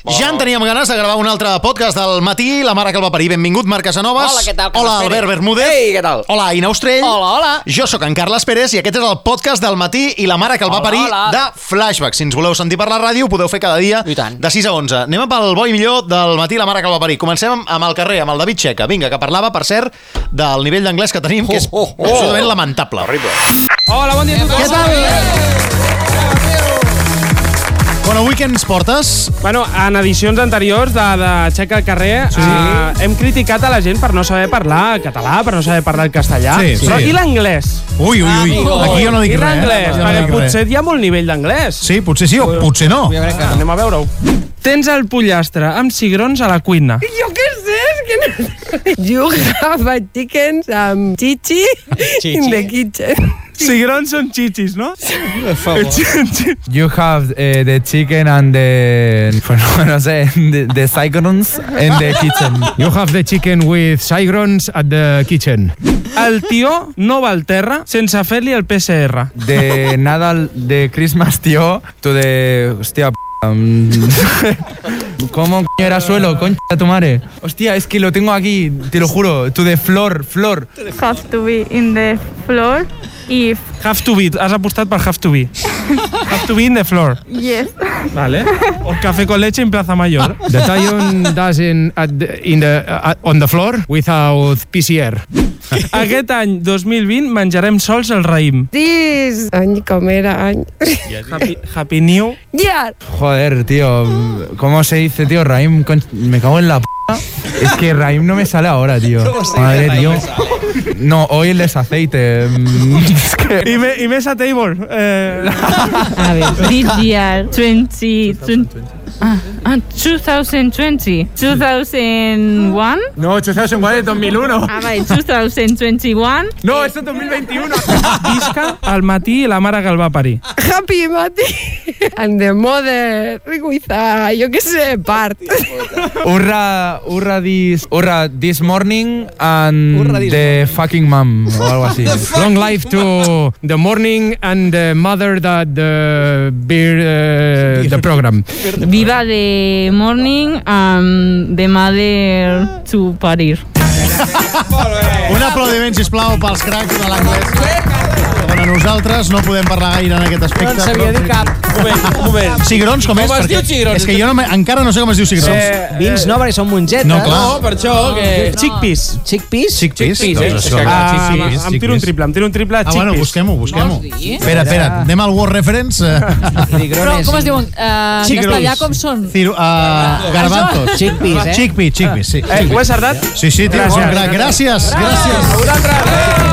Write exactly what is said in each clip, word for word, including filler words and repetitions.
Ja en teníem ganes de gravar un altre podcast del matí, la mare que el va parir. Benvingut, Marc Casanovas. Hola, què tal? Hola, Albert Bermúdez. Ei, què tal? Hola, Aina Ostrell. Hola, hola. Jo sóc en Carles Pérez i aquest és el podcast del matí i la mare que el va Hola, parir hola. de Flashback. Si ens voleu sentir per la ràdio, ho podeu fer cada dia I tant. de sis a onze. Anem pel bo i millor del matí, la mare que el va parir. Comencem amb, amb el carrer, amb el David Checa. Vinga, que parlava, per cert, del nivell d'anglès que tenim, que és Oh, oh, oh. absolutament lamentable. Horrible. Hola, bon dia a tothom. Què tal? Bueno, avui què ens portes? Bueno, en edicions anteriors de, de Xeca al carrer Sí. eh, hem criticat a la gent per no saber parlar català, per no saber parlar el castellà. Sí, sí. Però i l'anglès? Ui, ui, ui. Amigo. Aquí jo no dic I res. l'anglès? Jo no Perquè dic res. potser hi ha molt nivell d'anglès. Sí, potser sí o potser no. Anem a veure-ho. Tens el pollastre amb cigrons a la cuina. Jo què sé, és que no... You have a chicken um, chichi in the kitchen. Cigrons són chichis, no? You have uh, the chicken and the, bueno, no sé, the, the cigrons in the kitchen. You have the chicken with cigrons at the kitchen. El tió no va al terra sense fer-li el P C R. De Nadal, de Christmas, tío, to the... Hostia, p***. um, ¿Cómo coño era suelo? Concha de tu madre. Hostia, es que lo tengo aquí, te lo juro. To the floor, floor. Have to be in the floor if Have to be. Has apostat per have to be. Have to be in the floor. yes. Vale. O café con leche en Plaza Mayor. The Lion doesn't at the, in the, uh, on the floor without P C R. Aquest any dos mil vint menjarem sols el raïm. This any com era any. Happy, happy New. Yeah. Joder, tío. ¿Cómo se dice, tío? Raim, con... me cago en la p***. Es que Raim no me sale ahora, tío. Madre, tío. No, hoy el desaceite. Mm, es que... I, me, i més a table. Eh... A ver, this year twenty twenty ah, ah, twenty twenty two thousand one No, dos mil uno, dos mil uno. ah, vale, twenty twenty-one No, esto es dos mil veintiuno. Visca al matí i la mare que el va parir. Happy Mati. And the mother with a, jo què sé, part. Urra, urra this, urra this morning and the fucking mom o algo así. Long life to the morning and the mother that the beer uh, the program. viva the morning and the mother to parir. Un aplaudiment, sisplau, pels cracs de l'anglès. Bueno, nosaltres no podem parlar gaire en aquest aspecte. No en sabia dir cap. Un moment, un moment. Cigrons, com és? Com es Perquè diu cigrons? És que jo no me, encara no sé com es diu cigrons. Eh, Vins no, perquè són mongetes. No, clar. No, per això que... Chickpeas. Chickpeas? Chickpeas? Chickpeas, Doncs eh? això. Ah, Chickpeas, em tiro un triple, em tiro un triple Ah, bueno, chickpeas. busquem-ho, busquem-ho. Vols dir? Espera, espera, anem al Word Reference. Però com es diuen? Uh, en castellà com són? Ciro, uh, garbanzos. Chickpeas, eh? Chickpeas, chickpeas, sí. Eh, ho he acertat? Sí, sí, tio, bon crac. Gràcies, gràcies.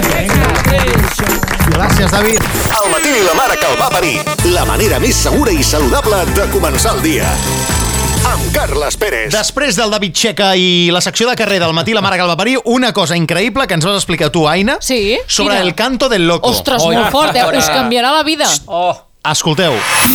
Gràcies, David. Al matí i la mare que el va parir. La manera més segura i saludable de començar el dia. Amb Carles Pérez. Després del David Checa i la secció de carrer del matí, la mare que el va parir, una cosa increïble que ens vas explicar tu, Aina, Sí? sobre Quina? el canto del loco. Ostres, molt fort, eh? Us canviarà la vida. Oh. Escolteu.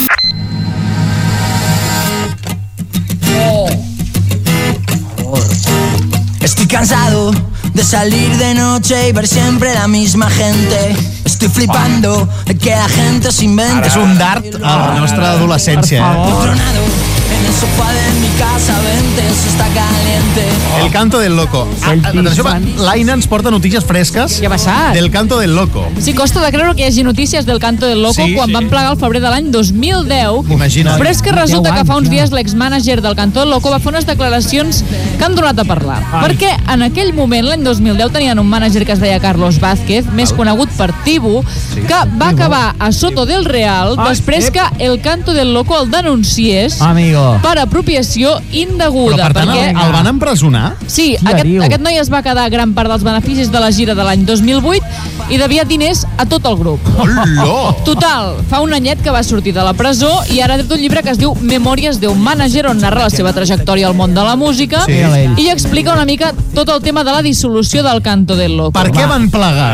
Estoy cansado de salir de noche y ver siempre la misma gente. Estoy flipando de que la gente se invente. És un dart a la nostra adolescència. Eh? Tronado en el sofá de mi casa, vente, eso está caliente. El canto del loco. Ah, atenció, l'Aina ens porta notícies fresques Què ha passat? del canto del loco. Sí, costa de creure que hi hagi notícies del Canto del Loco Sí, quan sí. van plegar el febrer de l'any dos mil deu. Imagina't. Però és que resulta que fa uns dies l'exmànager del Canto del Loco va fer unes declaracions que han donat a parlar. Perquè en aquell moment, l'any dos mil deu, tenien un mànager que es deia Carlos Vázquez, més conegut per Tibu, que va acabar a Soto del Real després que el Canto del Loco el denunciés Amigo. per apropiació indeguda. Però, per tant, el, el van empresonar? Sí, aquest, aquest noi es va quedar gran part dels beneficis de la gira de l'any dos mil vuit i devia diners a tot el grup. Hola! Total, fa un anyet que va sortir de la presó i ara ha tret un llibre que es diu Memòries d'un mànager, on narra la seva trajectòria al món de la música Sí. i explica una mica tot el tema de la dissolució del Canto del Loco. Per què van plegar?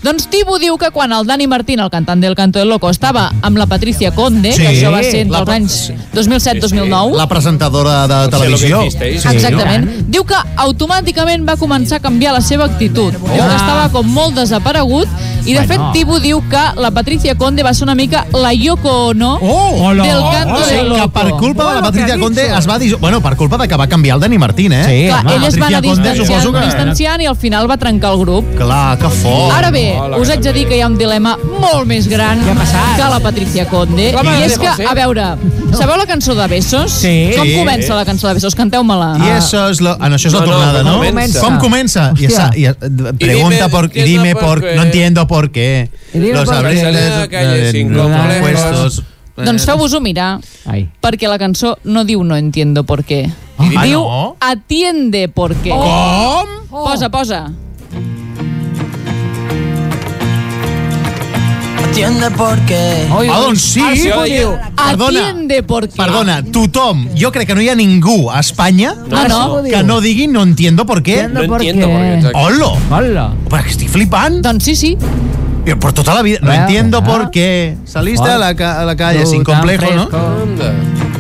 Doncs Tibu diu que quan el Dani Martín, el cantant del Canto del Loco, estava amb la Patricia Conde, Sí. que això va ser entre La- els anys dos mil set dos mil nou, La presentadora de televisió. Sí, exactament. Diu que automàticament va començar a canviar la seva actitud. Diu que estava com molt desaparegut i, de Bueno. fet, Tibu diu que la Patricia Conde va ser una mica la Yoko Ono Oh, del Canto o sigui, del que Loco. per culpa de la Bueno, Patricia que Conde dicho. es va dir... Bueno, per culpa de que va canviar el Dani Martín, eh? Sí, Clar, home. ell es va anar Patricia Conde, distanciant, suposo que- distanciant i al final va trencar el grup. Clar, que fort. Ara bé, Oh, la us haig de dir que hi ha un dilema molt més gran Què ha passat? que la Patricia Conde. Home, I és que, José. a veure, sabeu la cançó de Besos? Sí. Com Sí. comença la cançó de Besos? Canteu-me-la. I això és, lo... ah, no, això és la No, no, tornada, com no? comença? Com comença? I Hòstia. esa, y, eh, pregunta dime, por... entiendo Dime por por... qué. No entiendo por qué. Y dime Los por qué. abriles, Salí a la calle eh, sin los complejos. puestos... Doncs feu-vos-ho mirar, Ai. perquè la cançó no diu no entiendo por qué. Ah, Diu no? atiende por qué. Com? Posa, posa. Atiende porque Ah, doncs sí. El Tibu diu Perdona. atiende por qué. Perdona, tothom, jo crec que no hi ha ningú a Espanya Ah, no? que no digui no entiendo por qué. Entiendo por entiendo qué. por qué, exacte. Hola! Hola. Però que estic flipant. Doncs sí, sí. Yo por toda la vida. No Ah, entiendo ah. por qué. Saliste Ah. a la, ca- a la calle Tú sin tan complejo, ¿no? fresco. Anda.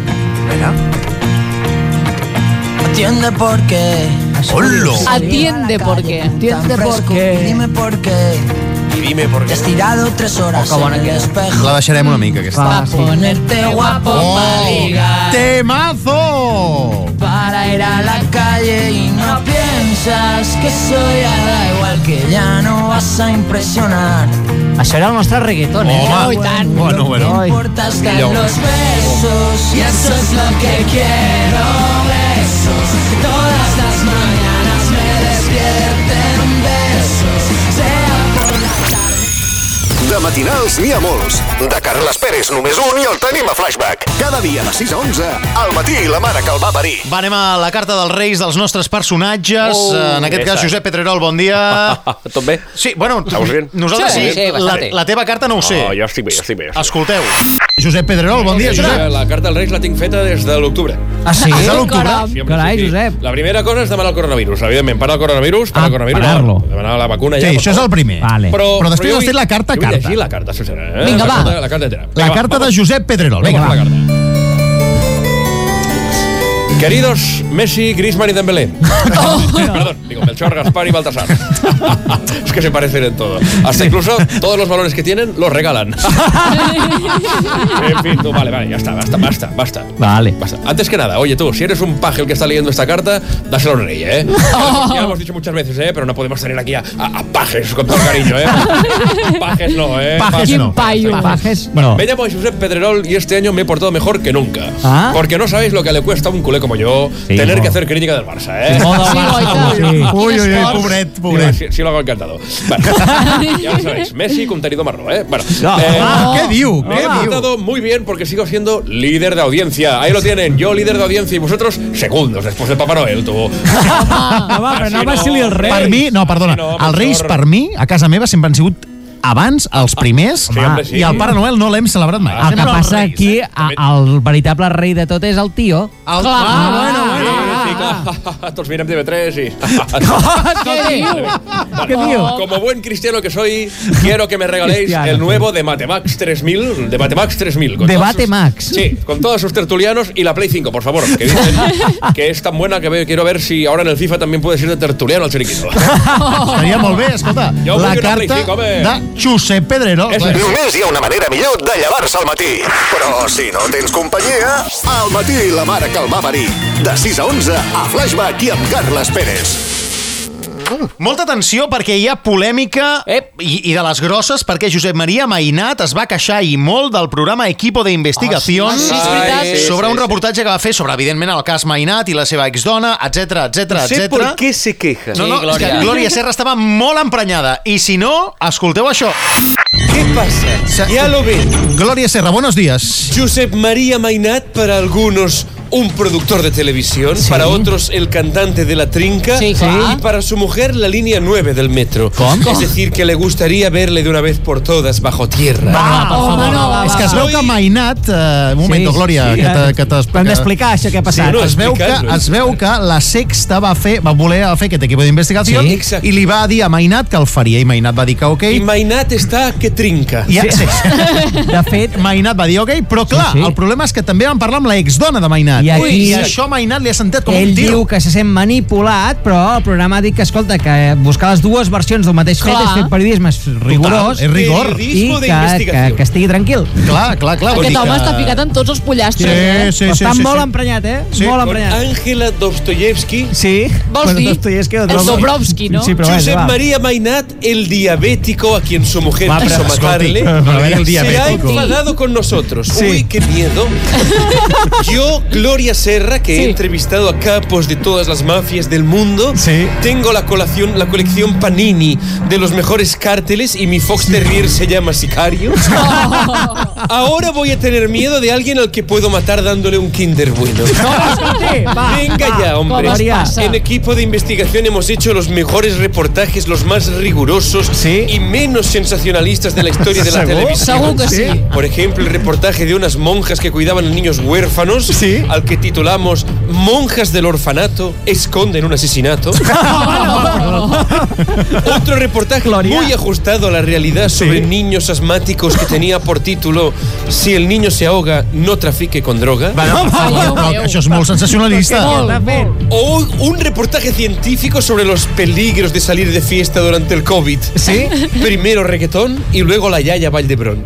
atiende porque Hola. Atiende por qué. Entiende por qué. Y dime por qué Y dime por te qué. has tirado tres horas Oh, que bona en el que és. espejo La deixarem una mica, aquesta. Va ponerte guapo Oh, pa' ligar. ¡Temazo! para ir a la calle y no piensas que soy ya da igual que ya no vas a impresionar. Això era el nostre reggaeton, eh? Home, I tant. bueno, bueno. Ai. Importas que Millor. los besos y eso es lo que quiero. Besos todas las mañanas me despierten besos. Sea por la tarde. De matinals n'hi ha molts. De Carles Pérez només un i el tenim a Flashback. Cada dia de sis a onze, al matí la mare que el va parir. Va, anem a la carta dels Reis dels nostres personatges. Oh, en aquest cas, esa. Josep Pedrerol, bon dia. Tot bé? Sí, bueno, Estamos bien? nosaltres sí. Sí, sí, la, bastante. la teva carta no ho sé. Oh, jo estic bé, jo estic bé. jo estic bé. Escolteu. Josep Pedrerol, bon dia, Sí, Josep. la carta dels Reis la tinc feta des de l'octubre. Ah, sí? És de l'octubre? Sí, home, Carai, sí, sí. Josep. La primera cosa és demanar el coronavirus. Evidentment, para el coronavirus, para Ah, el coronavirus. parar-lo. no, Demanar la vacuna Sí, ja. per això és favor. el primer. Vale. Però, Però després jo has fet vull- la carta, jo vull carta. llegir la carta, senyora. Eh? Vinga, la va. Carta, la carta entera. La Vinga, carta va, de Josep Pedrerol. Vinga, Vamos va. con la carta. Queridos Messi, Griezmann y Dembélé. Perdón, digo Melchor, Gaspar y Baltasar. Es que se parecen en todo. Hasta incluso todos los valores que tienen los regalan. En fin, tú, vale, vale, ya está, basta, basta, basta. Vale. Basta. Antes que nada, oye tú, si eres un paje el que está leyendo esta carta, dáselo al rey, ¿eh? Ya lo hemos dicho muchas veces, ¿eh? Pero no podemos tener aquí a, a- a pajes con todo el cariño, ¿eh? Pajes no, ¿eh? Pajes no. Payo. Pajes, Bueno, no. me llamo Josep Pedrerol y este año me he portado mejor que nunca. Ah. Porque no sabéis lo que le cuesta a un culé como yo Sí, tener no. que hacer crítica del Barça, ¿eh? Modo Sí, Barça, Goita. sí. Uy, uy, uy, esforç. pobret, Sí, pobret. sí, sí lo hago encantado. Bueno, ya lo sabéis, Messi contenido marró, ¿eh? Bueno, No. eh, Ah, què diu? me he Què diu? portado muy bien porque sigo siendo líder de audiencia. Ahí lo tienen, yo líder de audiencia y vosotros segundos después de Papá Noel, tú. Home, però Així no va no. ser-li el rei. Per mi, no, perdona, No, els Reis Melchor. per mi, a casa meva, sempre han sigut abans, els primers, Sí, home, sí. i el Pare Noel no l'hem celebrat mai. El que Sempre els passa Reis, aquí, eh? a- el veritable rei de tot és el tio. El... Clar. Ah, bueno, bueno. Sí, clar. Tots mirem T V tres y... Què diu? Què diu? Como buen cristiano que soy, quiero que me regaléis Cristiano. el nuevo de Matemax tres mil. De Matemax tres mil. con Debate todos sus- Max. Sí, con todos sus tertulianos y la Play cinco, por favor. Que dicen que es tan buena que ve- quiero ver si ahora en el FIFA también puedes ir de tertuliano al chiringuito. Estaria molt bé, escolta, Jo vull la una carta Play cinc, home. de Josep Pedrerol. Eso es. Només hi ha una manera millor de llevar-se al matí. Però si no tens companyia, al matí la mare que el va parir. De sis a onze, a Flashback i amb Carles Pérez. Molta atenció perquè hi ha polèmica Ep. i, i de les grosses perquè Josep Maria Mainat es va queixar i molt del programa Equipo de Investigación Ah, sí, sí, és veritat. Ai, sí, sobre sí, un sí. reportatge que va fer sobre, evidentment, el cas Mainat i la seva exdona, etc etc No sé etc. por qué se queja. No, no, Sí, és que Glòria. Glòria Serra estava molt emprenyada. I si no, escolteu això. ¿Qué pasa? Ya lo ven. Glòria Serra, buenos días. Josep María Mainat para algunos, un productor de televisión, sí. para otros el cantante de la trinca, sí, sí. y para su mujer la línea nueve del metro. Com? Es decir, que le gustaría verle de una vez por todas bajo tierra. Va, per favor. No, va, és que es veu que Mainat... Uh, un moment, sí, Glòria, sí, que t'explica. Hem d'explicar això que ha passat. Sí, no, es, veu que, es veu que la Sexta va fer va voler fer aquest equip d'investigació sí, i li va dir a Mainat que el faria, i Mainat va dir que ok. I Mainat està que trinca. Ja, sí. De fet, Mainat va dir ok, però clar, sí, sí. el problema és que també vam parlar amb la exdona de Mainat. I, aquí, Ui, i això Mainat li ha sentit com ell un tiro. Ell diu que se sent manipulat, però el programa ha dit que, escolta, que buscar les dues versions del mateix fet és fer periodisme rigorós. Total, és rigor. I que, que, que estigui tranquil. Clar, clar, clar. Aquest home que... està ficat en tots els pollastres, sí, eh? Sí, sí, està sí, molt sí. emprenyat, eh? Sí. Molt emprenyat. Àngela Dostoyevsky. Sí. Vols dir? Dostoyevsky, el Dobrovsky, ¿no? Sí, però Josep va. María Mainat, el diabético a quien su mujer va, quiso matarle, el se ha enfadado con nosotros. Sí. Uy, qué miedo. Yo, Gloria Serra, que sí. he entrevistado a capos de todas las mafias del mundo, sí. tengo la colección, la colección Panini de los mejores cárteles y mi Fox Terrier se llama Sicario. Ahora voy a tener miedo de alguien al que puedo matar dándole un Kinder Bueno. No, va, Venga va, ya, hombre. pasa? En equipo de investigación hemos hecho los mejores reportajes, los más rigurosos ¿Sí? y menos sensacionalistas de la historia de la ¿Seguro? televisión. Seguro que sí. Por ejemplo, el reportaje de unas monjas que cuidaban a niños huérfanos, ¿Sí? al que titulamos Monjas del orfanato esconden un asesinato. Otro reportaje Gloria. muy ajustado a la realidad sobre ¿Sí? niños asmáticos que tenía por título Si el niño se ahoga, no trafique con droga. Bueno, no, no, això és molt sensacionalista. O un reportaje científico sobre los peligros de salir de fiesta durante el COVID. ¿Sí? Primero reggaetón y luego la Yaya Valdebrón.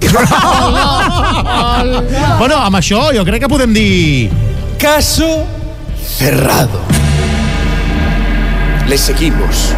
Bueno, amb això jo crec que podem dir... Caso cerrado. Le seguimos.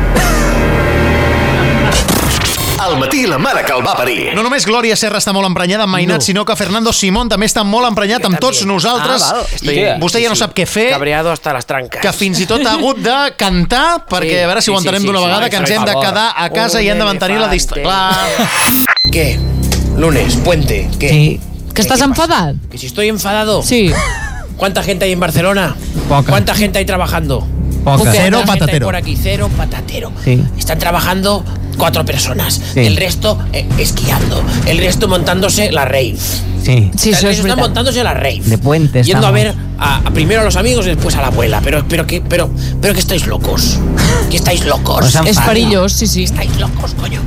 Al matí la mare que el va parir. No només Glòria Serra està molt emprenyada amb Mainat, no. sinó que Fernando Simón també està molt emprenyat amb tots nosaltres. Ah, I vostè ja no sap què fer. Cabreado hasta las trancas. Que fins i tot ha hagut de cantar, perquè sí, a veure si sí, ho entenem sí, d'una sí, vegada, sí, que ens sí, hem de favor. quedar a casa Un i hem de mantenir la distància. ¿Qué? Lunes, puente, ¿qué? Sí. ¿Que estás enfadat? Que si estoy enfadado. Sí. ¿Cuánta gente hay en Barcelona? Poca. ¿Cuánta gente hay trabajando? Poca. Cero ¿Cuánta gente hay patatero. por aquí? Cero patatero. Sí. Están trabajando cuatro personas. Sí. El resto eh, esquiando. El resto montándose la rave. Sí. Sí, el això és resto están veritat. montándose la rave. De puente Yendo estamos. a ver a, a primero a los amigos y después a la abuela. Pero, pero, que, pero, pero que estáis locos. Que estáis locos. Pues És perillós, sí, sí. Estáis locos, coño.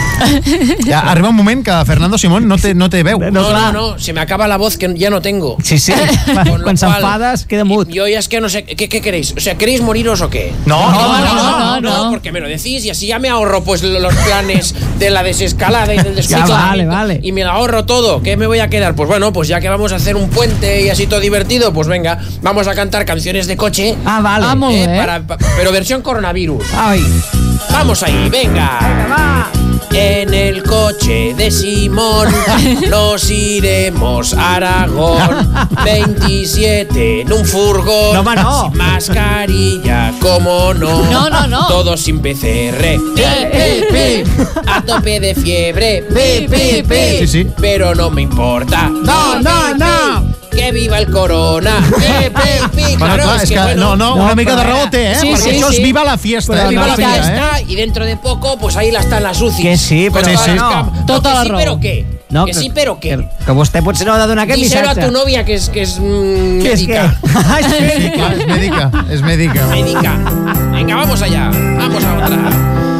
Ja arriba un moment que Fernando Simón no té, no té veu. No, no, no, se me acaba la voz que ya no tengo. Sí, sí. Con lo Quan cual, s'enfades, queda mut. Yo ya es que no sé, ¿qué, qué queréis? O sea, ¿queréis moriros o qué? No, no, no, no, no, no. no. Porque me lo decís y así ya me ahorro pues los planes de la desescalada y del descontrol. vale, vale. Y me lo ahorro todo. ¿Qué me voy a quedar? Pues bueno, pues ya que vamos a hacer un puente y así todo divertido, pues venga, vamos a cantar canciones de coche. Ah, vale. Ah, molt eh, bé. para- pa- pero versión coronavirus. Ai. Vamos ahí, venga. Va. En el coche de Simón nos iremos a Aragón. veintisiete en un furgón. No, home, no. Sin mascarilla, como no. No, no, no. Todos sin P C R. Pi, pi, pi. A tope de fiebre. Pi, pi, pi. Sí, sí. Pero no me importa. No, Pi, no, pi, no. pi. Que viva el corona. Pi, pi, pi. Bueno, Claro, clar, es és que, que, bueno, no, no, no, una mica de però- raó té, eh? Sí, Perquè sí, això és sí. viva la fiesta. Però eh? Viva Viva la la fiesta fiesta, eh? y dentro de poco pues ahí la están las U C I. Que sí, Con però todas sí. las cam- Tota No, que la sí, raó. pero qué. No, que sí, pero qué. Que, que vostè potser no ha de donar aquest Díselo a missatge. tu novia que es, que es mm, Que és que... médica. Ai, Sí, clar, és mèdica, és mèdica. Médica. Venga, vamos allá. Vamos a otra.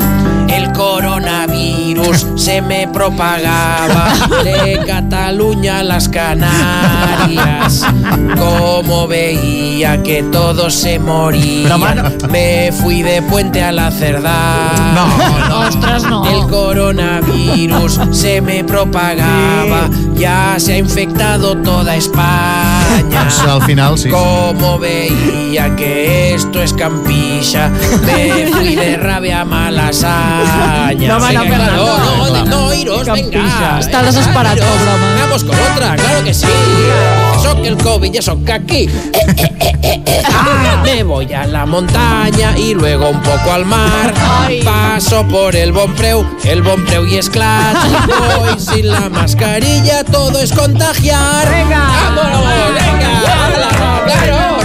El coronavirus se me propagaba de Cataluña a las Canarias. Como veía que todos se morían, me fui de puente a la Cerdá. No, no. Ostres, no. El coronavirus se me propagaba, ya se ha infectado toda España. Doncs al final, sí. Como veía que esto es campilla, me fui de rabia a Malasaña. No, home, no, Venga, Fernando. no, no, no, iros, Campilla. venga. Está venga, desesperado, iros. pobre home. Vamos con otra, claro que sí. Eso que el COVID, eso que aquí. Eh, eh, eh, eh, eh. Me voy a la montaña y luego un poco al mar. Ay. Paso por el Bonpreu, el Bonpreu y Esclat. Voy sin la mascarilla, todo es contagiar. Venga. ¡Vámonos, venga! ¡Hala, claro!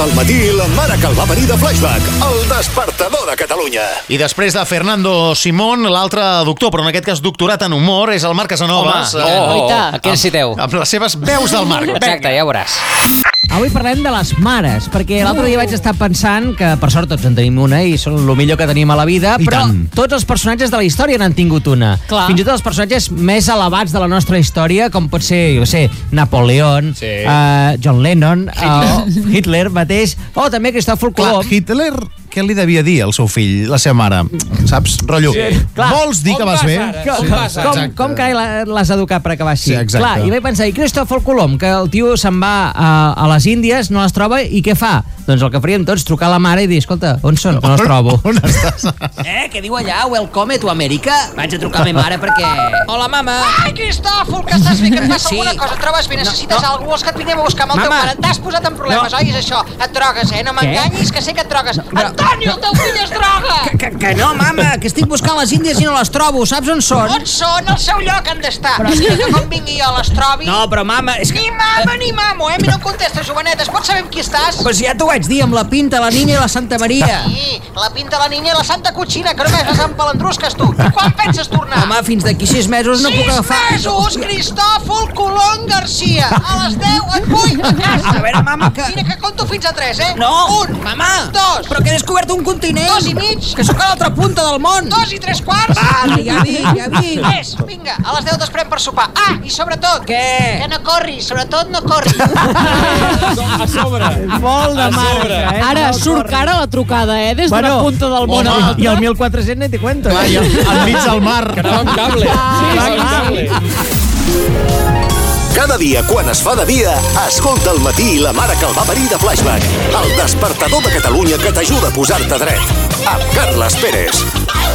Escolta al matí la mare que el va parir de Flashback, el despertador de Catalunya. I després de Fernando Simón, l'altre doctor, però en aquest cas doctorat en humor, és el Marc Casanovas. Home, oh, oh, oh. Aquí ens citeu. Amb les seves veus del Marc. Exacte, ja ho veuràs. Avui parlem de les mares, perquè l'altre dia vaig estar pensant que, per sort, tots en tenim una i són el millor que tenim a la vida, I però tant. tots els personatges de la història n'han tingut una. Clar. Fins i tot els personatges més elevats de la nostra història, com pot ser, jo sé, Napoleón, Sí. uh, John Lennon, Hitler, uh, Hitler mateix, o també Cristòfol Colom. Clar, Hitler, què li devia dir al seu fill, la seva mare? Saps? Rotllo, Sí, clar. vols dir On que vas vas bé? ara? Com, com, com carai la- l'has educat per acabar així? Sí, exacte. Clar, i vaig pensar, i Cristòfol Colom, que el tio se'n va a, a les Índies, no les troba, i què fa? Doncs el que faríem tots, trucar a la mare i dir, escolta, on són? Que no els trobo. On estàs? Eh, què diu allà? Welcome to America? Vaig a trucar a ma mare perquè... Hola, mama. Ai, Cristòfol, que estàs bé, que et passa Sí. alguna cosa? Et trobes bé? Necessites No, no. alguna cosa? Vols que et vinguem a buscar amb el teu Mama. pare? T'has posat en problemes, No. oi? És això. Et drogues, eh? No m'enganyis, que sé que et drogues. Antonio, el teu fill es droga! Que, que, que no, mama, que estic buscant les Índies i no les trobo. Saps on són? On són? Al seu lloc han d'estar. Però és I que- que com vingui jo les trobi... No, però mama, és que... Ni mama ni mamo, eh? Mira, no em contestes, joveneta. Es pot saber amb qui estàs? Pues ja t'ho vaig dir, amb la Pinta, la Niña i la Santa Maria. Sí, la pinta la niña i la santa cotxina, que només vas amb palandrusques, tu. I quan penses tornar? Home, fins d'aquí sis mesos no puc agafar... Sis mesos, Cristòfol Colom Garcia. A les deu et vull a casa. A veure, mama, que... Mira, que conto fins a tres, eh? No, Un, mama, dos, però que he descobert un continent. dos i mig, Que sóc a l'altra punta del món. dos i tres quarts. Vale, ja vinc, ja vinc. Més, vinga, a les deu t'esperem per sopar. Ah, i sobretot... Què? Que no corris, sobretot no corris. A sobre. Molt de A marca, sobre. eh? Ara Molt surt cara la trucada, eh? Des d'una Bueno, punta del món a home, l'altra. I el mil quatre-cents ni te cuento. Clar, i enmig del mar. Que anava amb cable. Sí, clar, amb clar. cable. Cada dia, quan es fa de dia, escolta al matí la mare que el va parir de Flashback, el despertador de Catalunya que t'ajuda a posar-te dret. Amb Carles Pérez.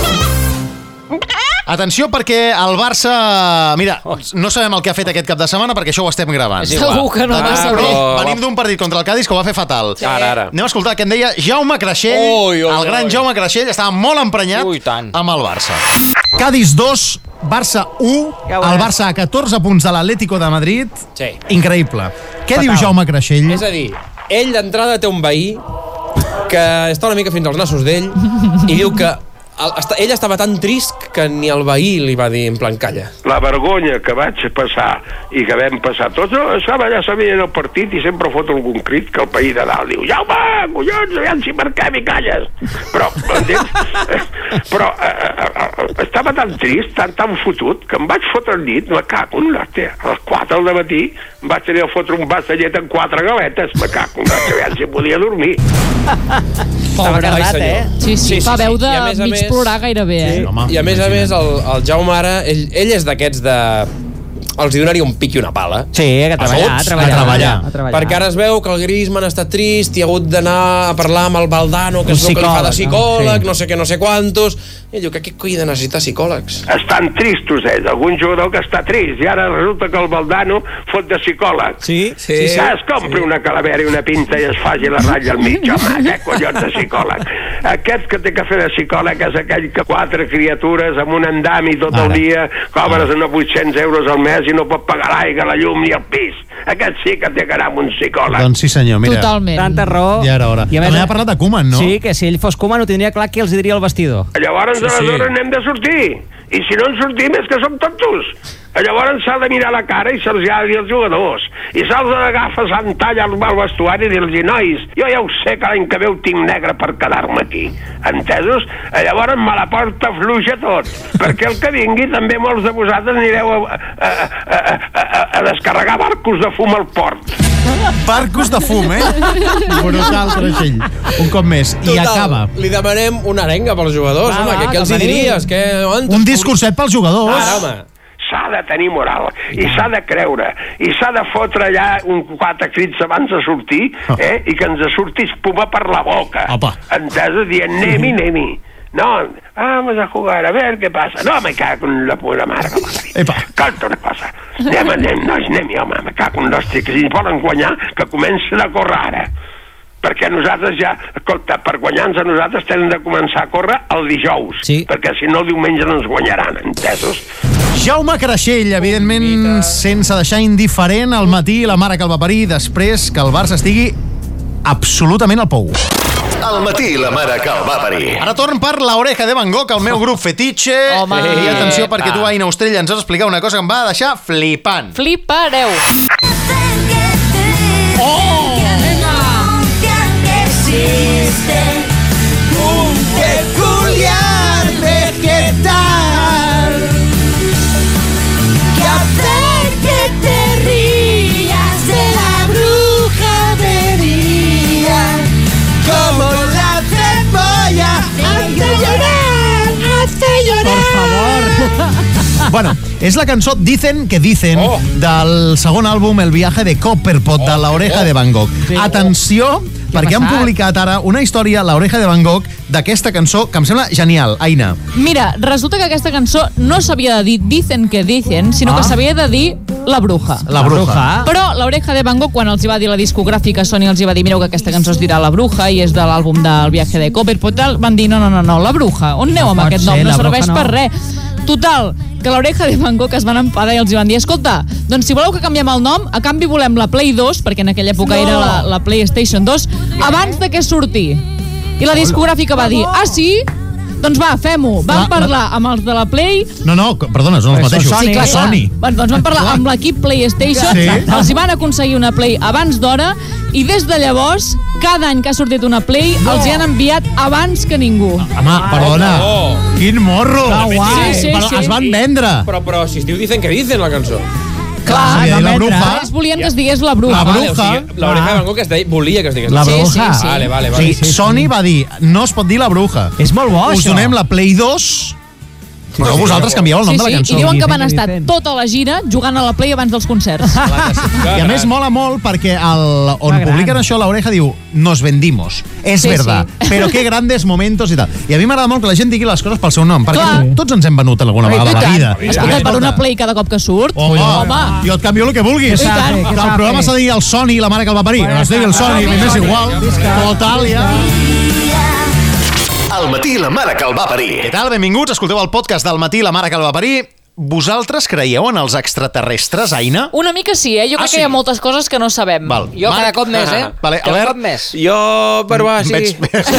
Atenció, perquè el Barça... Mira, no sabem el que ha fet aquest cap de setmana perquè això ho estem gravant. És igual. Segur que no Ah, va saber. però- Venim d'un partit contra el Cádiz que ho va fer fatal. Ara, ara. Anem a escoltar què en deia Jaume Creixell. Ui, ui, el gran ui. Jaume Creixell estava molt emprenyat Ui, tant. amb el Barça. Cádiz dos, Barça u, Ja ho veuràs. el Barça a catorze punts de l'Atlético de Madrid. Sí. Increïble. Què Fatal. diu Jaume Creixell? És a dir, ell d'entrada té un veí que està una mica fins als nassos d'ell i diu que el, està, ell estava tan trist que ni el veí li va dir en plan calla. La vergonya que vaig passar i que vam passar tots, estava allà sabia el partit i sempre fot algun crit que el país de dalt diu Jaume, collons, aviam si marquem i calles. Però, entens? Però eh, eh, estava tan trist, tan, tan fotut, que em vaig fotre al llit, me cago en l'hòstia. A les quatre del matí em vaig tenir a fotre un vas de llet amb quatre galetes, me cago en l'hòstia, aviam si podia dormir. Estava cardat, senyor. eh? Sí, sí, Sí, sí, fa sí. veu de I a més a mig més- plorar gairebé, eh? Home, I a més a més, el, el Jaume ara, ell, ell és d'aquests de... Els hi donaria un pic i una pala. Sí, que a treballar, a tots, treballar. a treballar. A treballar. Perquè ara es veu que el Griezmann està trist i ha hagut d'anar a parlar amb el Valdano, que Un és el que li fa de psicòleg, psicòleg, no? no sé què, no sé quantos. I ell diu que aquest coi de necessitar psicòlegs. Estan tristos ells, algun jugador que està trist i ara resulta que el Valdano fot de psicòleg. Sí, sí, sí. Ja es compri una calavera i una pinta i es faci la ratlla al mig, home, què collons de psicòleg? Aquest que té que fer de psicòleg és aquell que quatre criatures amb un endami tot el Ara. dia cobres unes vuit-cents euros al mes i no pot pagar l'aigua, la llum ni el pis. Aquest sí que té que anar amb un psicòleg. Doncs sí, senyor, mira. Totalment. Tanta raó. Ja era hora. I a més, També ha parlat de Koeman, no? Sí, que si ell fos Koeman ho tindria clar que els hi diria el vestidor. Llavors, Sí, sí. aleshores, n'hem de sortir. I si no en sortim és que som tontos. Llavors s'ha de mirar la cara i se'ls ha de dir als jugadors. I se'ls agafes en talla al vestuari i dir-los, nois, jo ja ho sé que l'any que ve ho tinc negre per quedar-me aquí. Entesos? Llavors me la porta fluixa tot. Perquè el que vingui també molts de vosaltres anireu a, a, a, a, a descarregar barcos de fum al port. Barcos de fum, eh? Brutal, Creixell. Un cop més. I acaba. Li demanem una arenga pels jugadors, Va, home, va, que què els que hi venim. diries? Que, on Un discurset pels jugadors. Ara, home. S'ha de tenir moral i s'ha de creure i s'ha de fotre allà un quatre crits abans de sortir eh? I que ens surti espuma per la boca. Opa. Entesos? Dient anem-hi, anem-hi. No, vamos a jugar, a ver qué pasa. No, me cago en la pura mare que m'ha parit. Epa. Escolta una cosa. Anem, anem, nois, anem-hi, home, me cago en l'hòstia, que si ens volen guanyar, que comencen a córrer ara. Perquè nosaltres ja, escolta, per guanyar-nos a nosaltres tenen de començar a córrer el dijous, Sí. perquè si no el diumenge no ens guanyaran, entesos? Jaume Creixell, evidentment sense deixar indiferent al matí la mare que el va parir després que el Barça estigui absolutament al pou. Al matí la mare que el va parir. Ara torn per La Oreja de Van Gogh, el meu grup fetitxe. Home. I atenció, perquè tu, Aina Ostrella, ens has d'explicar una cosa que em va deixar flipant. Flipareu. Oh! Un peculiar vegetal que hace que te rías de la bruja de día, como la cebolla hace llorar, hace llorar. Por favor. Bueno, és la cançó Dicen que Dicen oh. del segon àlbum El viaje de Copperpot, oh, de La Oreja oh. de Van Gogh. Sí. Atenció, perquè han publicat ara una història, La Oreja de Van Gogh, d'aquesta cançó que em sembla genial. Aina. Mira, resulta que aquesta cançó no s'havia de dir Dicen que Dicen, sinó ah. que s'havia de dir La Bruja. La Bruja. Però La Oreja de Van Gogh, quan els hi va dir la discogràfica Sony, els hi va dir, mireu que aquesta cançó es dirà La Bruja i és de l'àlbum del viaje de Copperpot, van dir, no, no, no, no, La Bruja. On aneu amb aquest nom? No serveix per res. Total, que La Oreja de Van Gogh es van enfadar i els hi van dir, escolta, doncs si voleu que canviem el nom, a canvi volem la Play dos, perquè en aquella època no. era la, la PlayStation dos, abans de que surti. I la discogràfica va dir, ah, sí? Doncs va, fem-ho. Vam parlar amb els de la Play... No, no, perdona, són els mateixos. Sí, clar, clar. Sony. Bueno, doncs vam parlar amb l'equip PlayStation, sí. els hi van aconseguir una Play abans d'hora i des de llavors, cada any que ha sortit una Play, no. els hi han enviat abans que ningú. Home, perdona, oh. quin morro. No, guai. Sí, sí, però sí. es van vendre. Però, però si es diu Dicen que Dicen la cançó. Clar, sí, la bruja. Ells volien que es digués La Bruja. La Bruja. Vale, o sigui, la Oreja de Van Gogh es deia, volia que es digués La Bruja. Sí, sí, sí. Vale, vale, vale. Sí, sí, Sony va dir, no es pot dir La Bruja. És molt bo, Us això. donem la Play dos, però sí, vosaltres canvieu el nom sí, de la cançó. Sí, i diuen que van estar tota la gira jugant a la Play abans dels concerts. I a més mola molt perquè el, on publiquen això, La Oreja diu, nos vendimos, és Sí, verdad, sí. però qué grandes momentos i tal. I a mi m'agrada molt que la gent digui les coses pel seu nom, perquè Clar. tots ens hem venut alguna vegada a la vida. Escolta, per una Play cada cop que surt. Home, Home. jo et canvio el que vulguis. I tant. Que el programa s'ha de dir el Sony, la mare que el va parir. No es digui el Sony, a mi m'és igual. Total, ja. Al matí la mare que el va parir. Què tal? Benvinguts, escolteu el podcast del matí, la mare que el va parir. Vosaltres creieu en els extraterrestres, Aina? Una mica sí, eh? Jo crec Ah, sí? que hi ha moltes coses que no sabem. Val. Jo cada cop més, eh? Vale, cada Albert? cop més. Jo, per va, sí. Veig...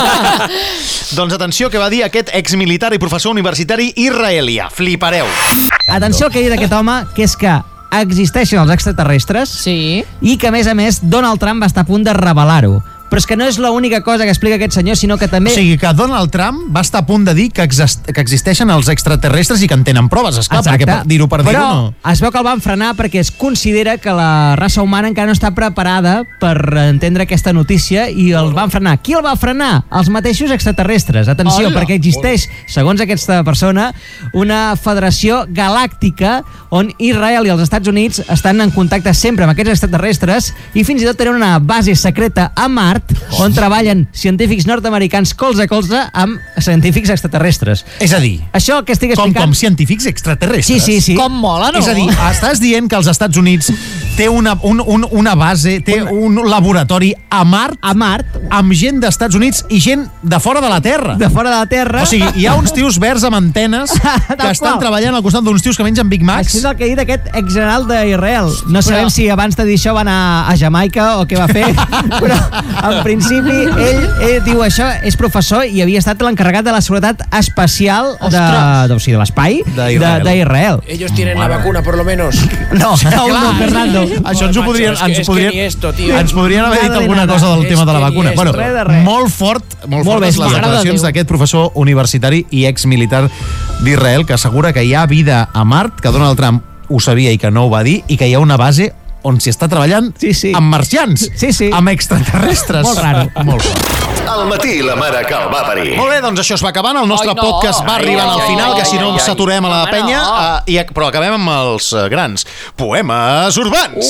doncs atenció que va dir aquest exmilitar i professor universitari israelià. Flipareu. Atenció al que ha dit aquest home, que és que existeixen els extraterrestres sí. i que, a més a més, Donald Trump va estar a punt de revelar-ho. Però és que no és l'única cosa que explica aquest senyor, sinó que també... O sigui, que Donald Trump va estar a punt de dir que, exist que existeixen els extraterrestres i que en tenen proves, esclar, Exacte. perquè per dir-ho per dir-ho Però no... es veu que el van frenar perquè es considera que la raça humana encara no està preparada per entendre aquesta notícia i el van frenar. Qui el va frenar? Els mateixos extraterrestres. Atenció, Hola. perquè existeix, segons aquesta persona, una federació galàctica on Israel i els Estats Units estan en contacte sempre amb aquests extraterrestres i fins i tot tenen una base secreta a Mart on treballen científics nord-americans colze a colze amb científics extraterrestres. És a dir, això que estic com, explicant... com científics extraterrestres. Sí, sí, sí. Com mola, no? És a dir, estàs dient que els Estats Units té una, un, un, una base, té un laboratori a Mart, a Mart amb gent d'Estats Units i gent de fora de la Terra. De fora de la Terra. O sigui, hi ha uns tios verds amb antenes que estan treballant al costat d'uns tios que mengen Big Macs. Això és el que ha dit aquest exgeneral d'Israel. No sabem si abans de dir això va anar a Jamaica o què va fer, però en principi ell, ell diu això, és professor i havia estat l'encarregat de la seguretat espacial de, de, o sigui, de l'espai d'Israel. Ellos tienen la vacuna, por lo menos. No, no, no, Fernando. Això ens ho podrien, es que, ens es podrien, que ni esto, tío. ens podrien haver dit alguna cosa del tema de la vacuna. Bueno, molt fort, molt, molt fortes les declaracions d'aquest professor universitari i exmilitar d'Israel que assegura que hi ha vida a Mart, que Donald Trump ho sabia i que no ho va dir, i que hi ha una base on s'hi està treballant sí, sí. amb marcians, sí, sí. amb extraterrestres. Molt raro. Molt fort. Al matí la mare que el va parir. Molt bé, doncs això es va acabant. El nostre ai, no. podcast va arribant al final, ai, que si no ai, ai. saturem a la Home, penya. no. Uh, i, però acabem amb els uh, grans. Poemes urbans.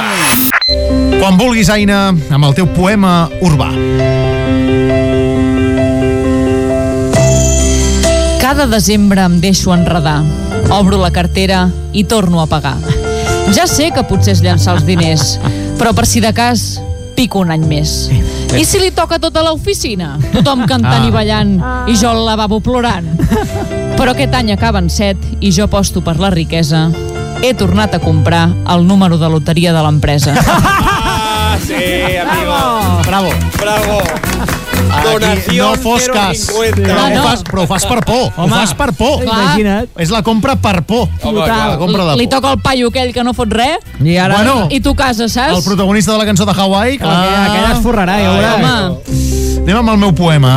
Uh. Quan vulguis, Aina, amb el teu poema urbà. Cada desembre em deixo enredar. Obro la cartera i torno a pagar. Ja sé que potser és llançar els diners, però per si de cas pico un any més. I si li toca tota l'oficina? Tothom cantant ah. i ballant i jo al lavabo plorant. Però aquest any acaben set i jo aposto per la riquesa. He tornat a comprar el número de loteria de l'empresa. Ah, Sí, amigo. Bravo. Bravo. Donació no fos cas. No, no. Ho fas, però ho fas per por. Home, ho fas per por. Imagina't. És la compra per por. Home, la compra de por. Li toca el paio aquell que no fot res I ara... Bueno, i tu cases, saps? el protagonista de la cançó de Hawaii. Clar. Aquella, aquella es forrarà, ja veuràs. Home. Anem amb el meu poema.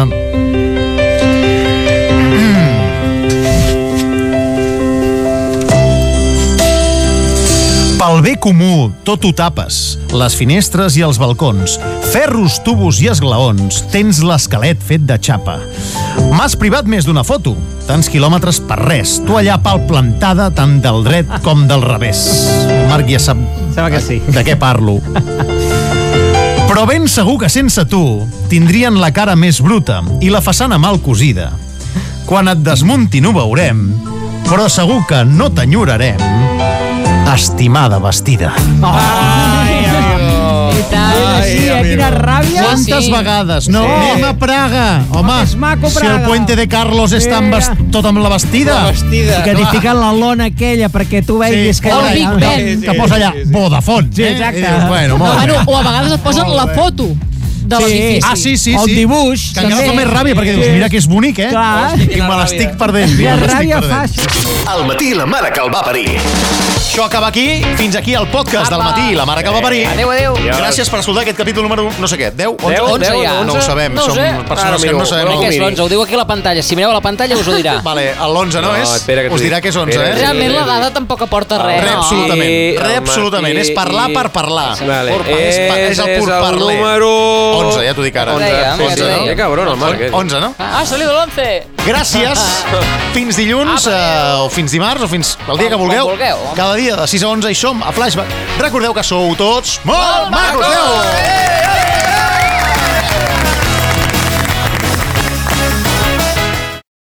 Pel bé comú, tot ho tapes. Les finestres i els balcons. Ferros, tubos i esglaons. Tens l'esquelet fet de xapa. M'has privat més d'una foto. Tants quilòmetres per res. Tu allà pal plantada tant del dret com del revés. Marc ja sap Sembla que sí. de què parlo. Però ben segur que sense tu tindrien la cara més bruta i la façana mal cosida. Quan et desmuntin ho veurem, però segur que no t'enyorarem. Estimada vestida. Ai, amigo. I tant. Ai, sí, amigo. Quina ràbia. Quantes sí. vegades? No, sí. Anem a Praga. Home, és maco, si Praga. el Puente de Carlos està amb vest... tot amb la vestida. La vestida. I que t'hi fiquen la lona aquella perquè tu veguis sí. que... O el Big Ben. Que, que posa allà Vodafone. Sí, exacte. Eh? Dius, bueno, molt No, bé. bueno, o a vegades et posen la foto de l'edifici. Ah, sí, sí, sí. O el dibuix. Que encara fa més ràbia, perquè dius, mira que és bonic, eh? Clar. I me l'estic perdent. I la ràbia fàcil. Al matí la mare que el va parir. Això acaba aquí. Fins aquí el podcast del matí. La mare que el va parir. Adéu, adéu. Gràcies per escoltar aquest capítol número, no sé què, deu, onze? onze ja. No ho sabem, No ho som sé. persones que no sabem. Crec que és l'onze, ho diu aquí a la pantalla. Si mireu a la pantalla us ho dirà. Vale, l'onze no és? espera que t'ho Us dirà dic. que és onze, Espera, eh? Realment la dada tampoc aporta res. Re, no? absolutament. Sí, Re, el absolutament. matí És parlar i- per parlar. Vale. Pur- és, pa- és el pur És el parler. número... onze, ja t'ho dic ara. Onze, ja, onze, ja no? t'ho Que cabron, el Marc. eh? onze, no? Ah, ha salido l'once. Gràcies. Fins dilluns, eh, o fins dimarts, o fins el dia que Quan vulgueu. vulgueu. Cada dia de sis a onze hi som a Flashback. Recordeu que sou tots molt macos. Adéu!